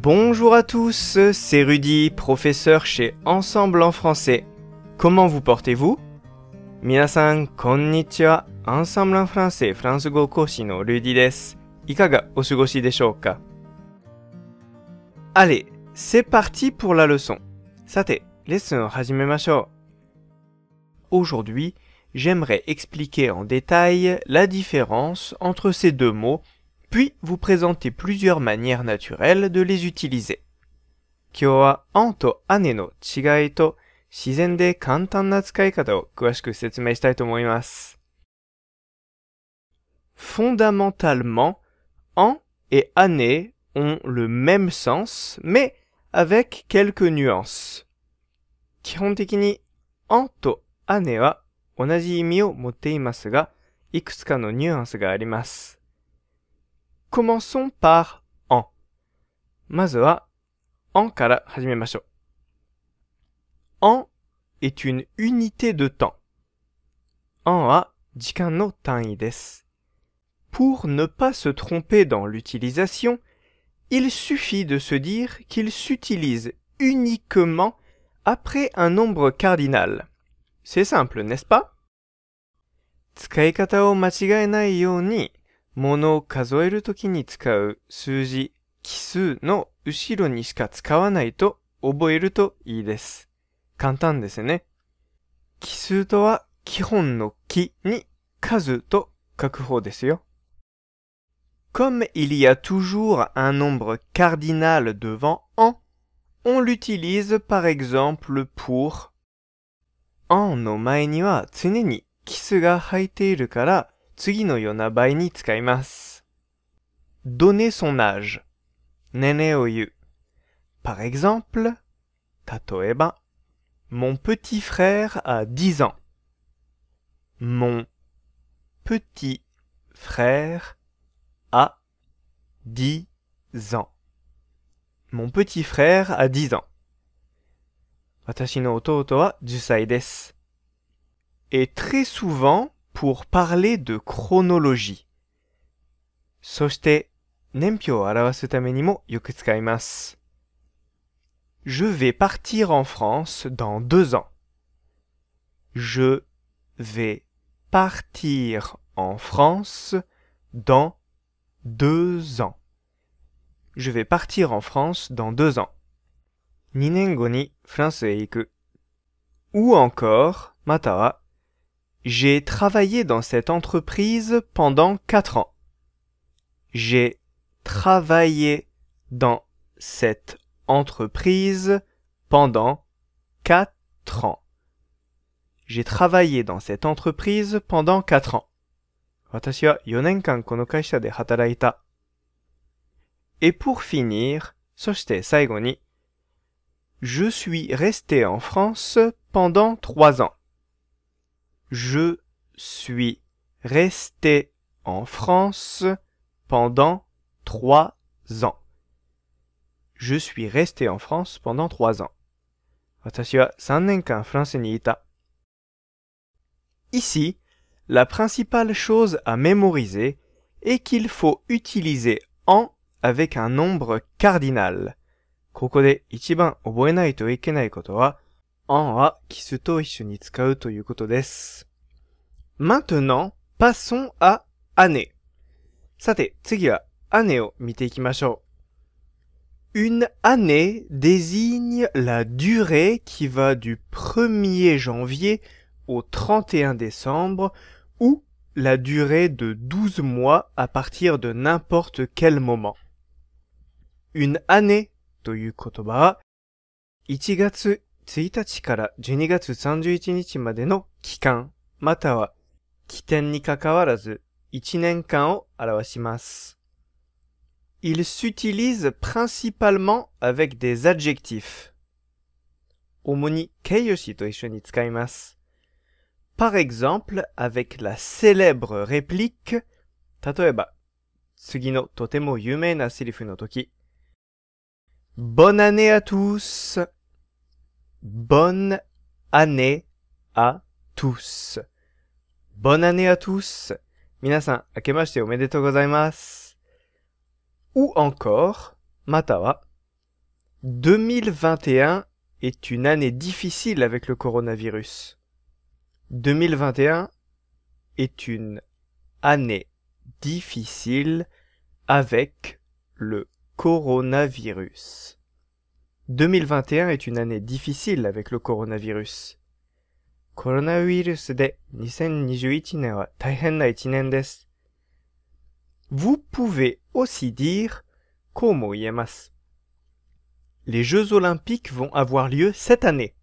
Bonjour à tous, c'est Rudy, professeur chez Ensemble en français. Comment vous portez-vous? 皆さん、こんにちは。Ensemble en français フランス語講師のルディです。いかがお過ごしでしょうか? Allez, c'est parti pour la leçon. さて、レッスンを始めましょう。Aujourd'hui, j'aimerais expliquer en détail la différence entre ces deux mots, puis vous présenter plusieurs manières naturelles de les utiliser. 今日はアンと姉の違いと自然で簡単な使い方を詳しく説明したいと思います。Fondamentalement, an et année ont le même sens, mais avec quelques nuances. 基本的にanと姉は同じ意味を持っていますが、いくつかのニュアンスがあります。Commençons par an. まずは an から始めましょう。an est une unité de temps. an は時間の単位です。Pour ne pas se tromper dans l'utilisation, il suffit de se dire qu'il s'utilise uniquement après un nombre cardinal. C'est simple, n'est-ce pas? 使い方を間違えないように、物を数えるときに使う数字、奇数の後ろにしか使わないと覚えるといいです。簡単ですね。奇数とは基本の奇に数と書く方ですよ。Comme il y a toujours un nombre cardinal devant an, on l'utilise par exemple pour an の前には常に奇数が入っているから次のような場合に使います。Donner son âge 年齢を言う。Par exemple, 例えば、mon petit frère a 10 ans. Mon petit frère a 10 ans. Mon petit frère a 10 ans. 私の弟は10歳です。Et très souvent, pour parler de chronologie. そして、年表を表すためにもよく使います。Je vais partir en France dans 2 ans. Je vais partir en France dans 2 ans. Je vais partir en France dans 2 ans. 2年後にフランスへ行く。Ou encore, または、J'ai travaillé dans cette entreprise pendant 4 ans. J'ai travaillé dans cette entreprise pendant 4 ans. J'ai travaillé dans cette entreprise pendant 4 ans. 私は4年間この会社で働いた。Et pour finir, そして最後に、Je suis resté en France pendant 3 ans. Je suis resté en France pendant 3 ans. Je suis resté en France pendant 3 ans. 私は3年間フランスにいた。Ici, la principale chose à mémoriser est qu'il faut utiliser an avec un nombre cardinal. ここで一番覚えないといけないことは、an は奇数と一緒に使うということです。Maintenant, passons à année. さて、次はannéeを見ていきましょう。Une année désigne la durée qui va du 1er janvier au 31 décembre ou la durée de 12 mois à partir de n'importe quel moment. Une année という言葉は1月1日から12月31日までの期間または起点にかかわらず1年間を表します。Il s'utilise principalement avec des adjectifs. 主に形容詞と一緒に使います。Par exemple, avec la célèbre réplique, 例えば、次のとても有名なセリフの時、Bonne année à tous! Bonne année à tous! Bonne année à tous! 皆さん、明けましておめでとうございます。Ou encore, または、 2021 est une année difficile avec le coronavirus. 2021 est une année difficile avec le coronavirus. 2021 est une année difficile avec le coronavirus. コロナウイルスで2021年は大変な一年です。Vous pouvez aussi dire こうも言えます。Les Jeux Olympiques vont avoir lieu cette année.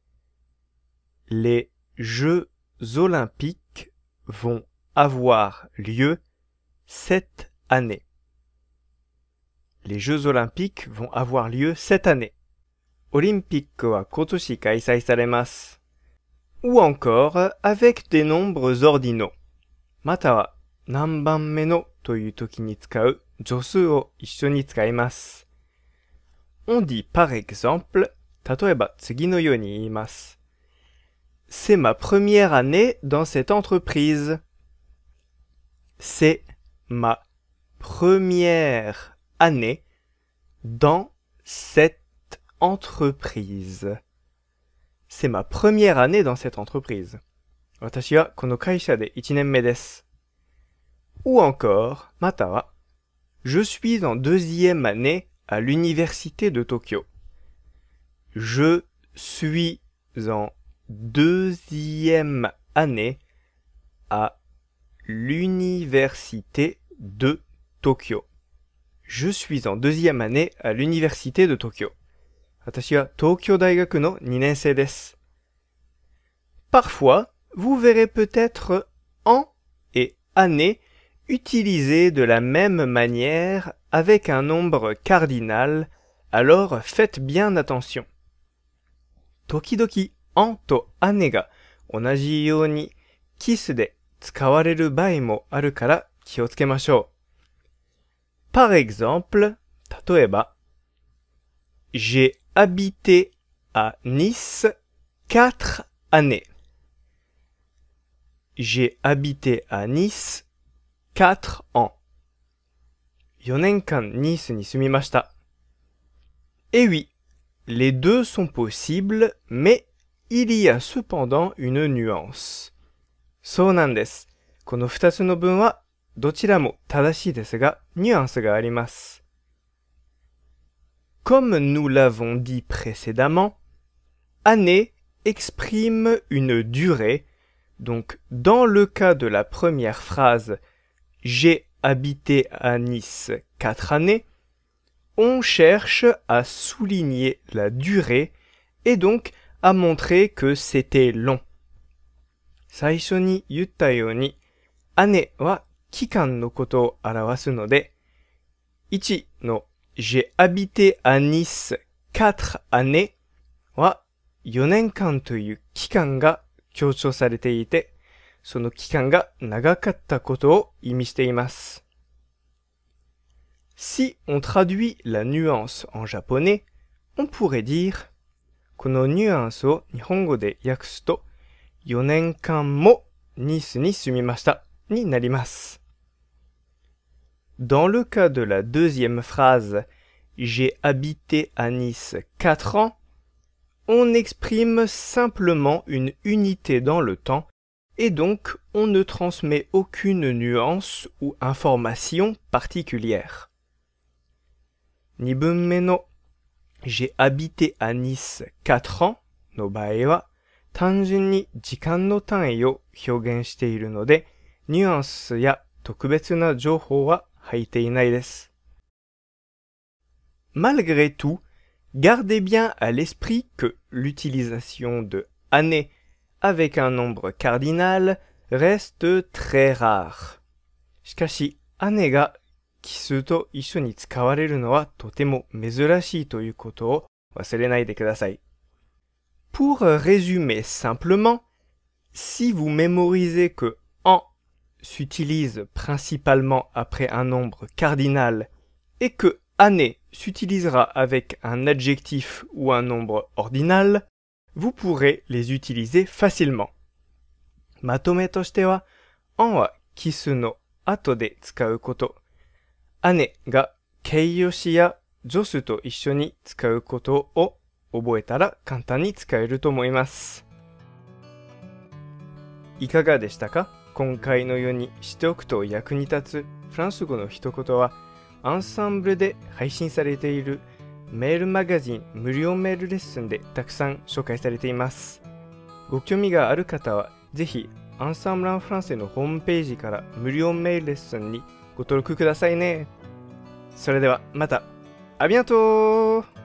Les Jeux Olympiques vont avoir lieu cette année. Les Jeux Olympiques vont avoir lieu cette année. オリンピックは今年開催されます。Ou encore avec des nombres ordinaux. または何番目のという時に使う助数を一緒に使います。On dit par exemple, 例えば次のように言います。C'est ma première année dans cette entreprise. C'est ma première année dans cette entreprise. C'est ma première année dans cette entreprise. 私はこの会社で1年目です。Ou encore, または、Je suis en deuxième année à l'université de Tokyo. Je suis en deuxième année à l'université de Tokyo. Je suis en deuxième année à l'université de Tokyo. 私は東京大学の2年生です。Parfois, vous verrez peut-être en et année utilisés de la même manière avec un nombre cardinal, alors faites bien attention. 時々、en とannéeが同じようにキスで使われる場合もあるから気をつけましょう。Par exemple, 例えば、J'ai habité à Nice 4 années. J'ai habité à Nice 4 ans. 4年間ニースに住みました。Et oui, les deux sont possibles, mais il y a cependant une nuance. そうなんです。この2つの文はどちらも正しいですが、ニュアンスがあります。Comme nous l'avons dit précédemment, année exprime une durée, donc dans le cas de la première phrase « J'ai habité à Nice 4 années », on cherche à souligner la durée et donc à montrer que c'était long. 最初に言ったように、annéeは期間のことを表すので、1のJ'ai habité à Nice 4 années は4年間という期間が強調されていて、その期間が長かったことを意味しています。Si on traduit la nuance en japonais, on pourrait dire このニュアンスを日本語で訳すと4年間もニースに住みましたになります。Dans le cas de la deuxième phrase « J'ai habité à Nice 4 ans », on exprime simplement une unité dans le temps et donc on ne transmet aucune nuance ou information particulière. 2文目の« J'ai habité à Nice 4 ans » の場合は単純に時間の単位を表現しているのでニュアンスや特別な情報は入っていないです。Malgré tout, gardez bien à l'esprit que l'utilisation de année avec un nombre cardinal reste très rare. しかし、annéeが奇数と一緒に使われるのはとても珍しいということを忘れないでください。Pour résumer simplement, si vous mémorisez que en s'utilise principalement après un nombre cardinal et que année s'utilisera avec un adjectif ou un nombre ordinal, vous pourrez les utiliser facilement. まとめとしては、en は奇数の後で使うこと、annéeが形容詞や助詞と一緒に使うことを覚えたら簡単に使えると思います。いかがでしたか？今回のようにしておくと役に立つフランス語の一言は、アンサンブルで配信されているメールマガジン無料メールレッスンでたくさん紹介されています。ご興味がある方は、ぜひアンサンブル・アン・フランセのホームページから無料メールレッスンにご登録くださいね。それではまた。アビアントー。